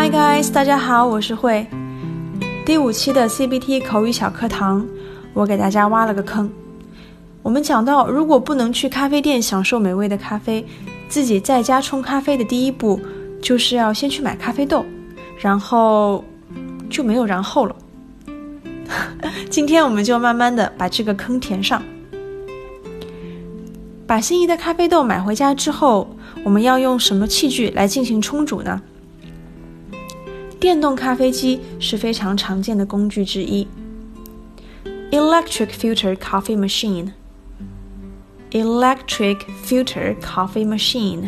Hi guys， 大家好，我是慧。第5期的 CBT 口语小课堂，我给大家挖了个坑。我们讲到，如果不能去咖啡店享受美味的咖啡，自己在家冲咖啡的第一步，就是要先去买咖啡豆，然后就没有然后了。今天我们就慢慢的把这个坑填上。把心仪的咖啡豆买回家之后，我们要用什么器具来进行冲煮呢？电动咖啡机是非常常见的工具之一。Electric filter coffee machine. Electric filter coffee machine.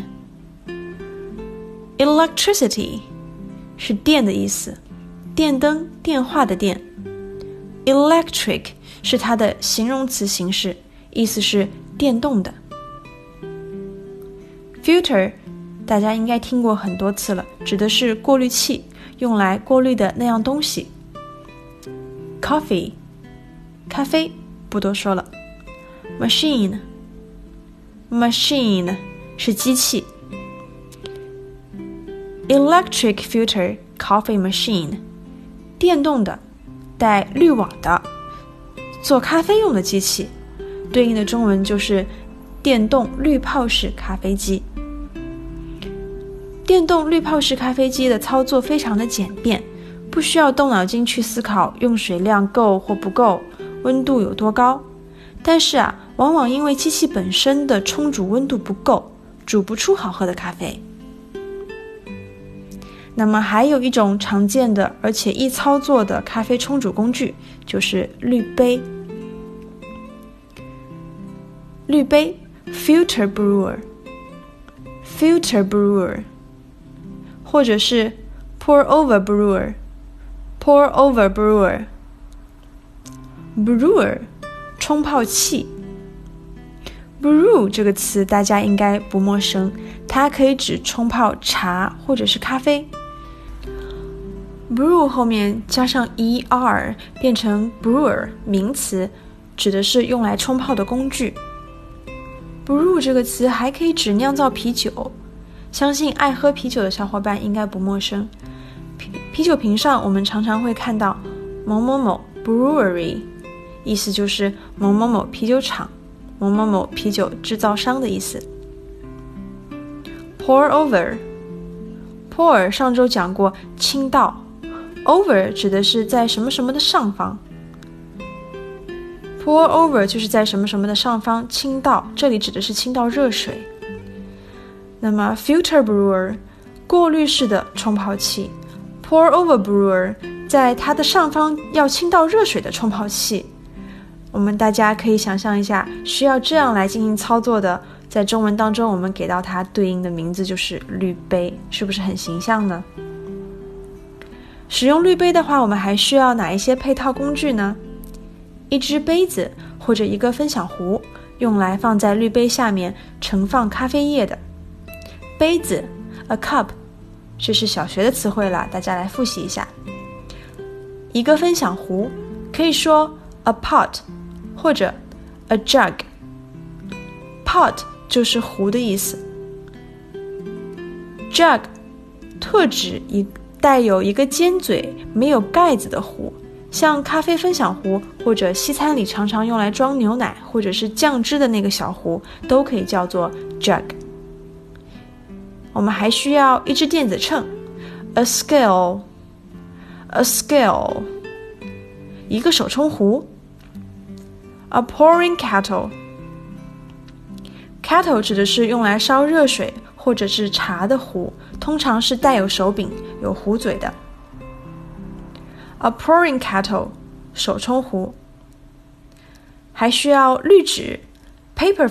Electricity 是电的意思，电灯、电话的电。Electric 是它的形容词形式，意思是电动的。Filter 大家应该听过很多次了，指的是过滤器，用来过滤的那样东西。Coffee 咖啡不多说了。Machine 是机器。Electric filter coffee machine 电动的带滤网的做咖啡用的机器，对应的中文就是电动滤泡式咖啡机。电动滤泡式咖啡机的操作非常的简便，不需要动脑筋去思考用水量够或不够，温度有多高。但是往往因为机器本身的冲煮温度不够，煮不出好喝的咖啡。那么还有一种常见的而且易操作的咖啡冲煮工具，就是滤杯。滤杯 filter brewer 或者是 pour over brewer brewer 冲泡器。 brew 这个词大家应该不陌生，它可以指冲泡茶或者是咖啡。brew 后面加上 er 变成 brewer 名词，指的是用来冲泡的工具。brew 这个词还可以指酿造啤酒，相信爱喝啤酒的小伙伴应该不陌生。啤酒瓶上我们常常会看到某某某 brewery， 意思就是某某某啤酒厂、某某某啤酒制造商的意思。pour over 上周讲过倾倒， over 指的是在什么什么的上方， pour over 就是在什么什么的上方倾倒，这里指的是倾倒热水。那么 filter brewer 过滤式的冲泡器， pour over brewer 在它的上方要倾倒热水的冲泡器。我们大家可以想象一下，需要这样来进行操作的，在中文当中我们给到它对应的名字就是滤杯，是不是很形象呢？使用滤杯的话，我们还需要哪一些配套工具呢？一只杯子或者一个分享壶，用来放在滤杯下面盛放咖啡液的。杯子 a cup， 这是小学的词汇了，大家来复习一下。一个分享壶可以说 a pot 或者 a jug。 pot 就是壶的意思， jug 特指带有一个尖嘴没有盖子的壶，像咖啡分享壶或者西餐里常常用来装牛奶或者是酱汁的那个小壶，都可以叫做 jug。 我们还需要一只电子秤 a scale， 一个手冲壶 a pouring kettle 指的是用来烧热水或者是茶的壶，通常是带有手柄有壶嘴的。 a pouring kettle 手冲壶。还需要滤纸 paper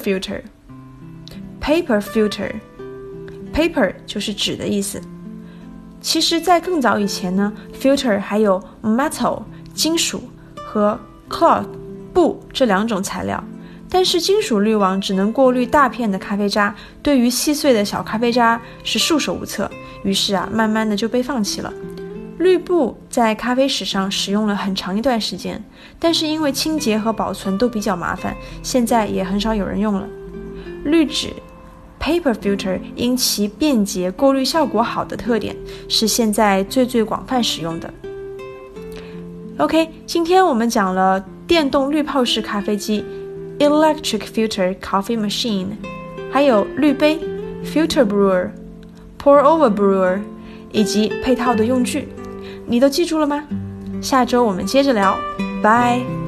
filter 就是纸的意思。其实在更早以前呢， filter 还有 metal 金属和 cloth 布这两种材料，但是金属滤网只能过滤大片的咖啡渣，对于细碎的小咖啡渣是束手无策，于是慢慢的就被放弃了。滤布在咖啡史上使用了很长一段时间，但是因为清洁和保存都比较麻烦，现在也很少有人用了。滤纸 paper filter 因其便捷、过滤效果好的特点，是现在最广泛使用的。OK， 今天我们讲了电动滤泡式咖啡机 Electric Filter Coffee Machine， 还有滤杯 Filter Brewer、 Pour Over Brewer 以及配套的用具，你都记住了吗？下周我们接着聊，拜。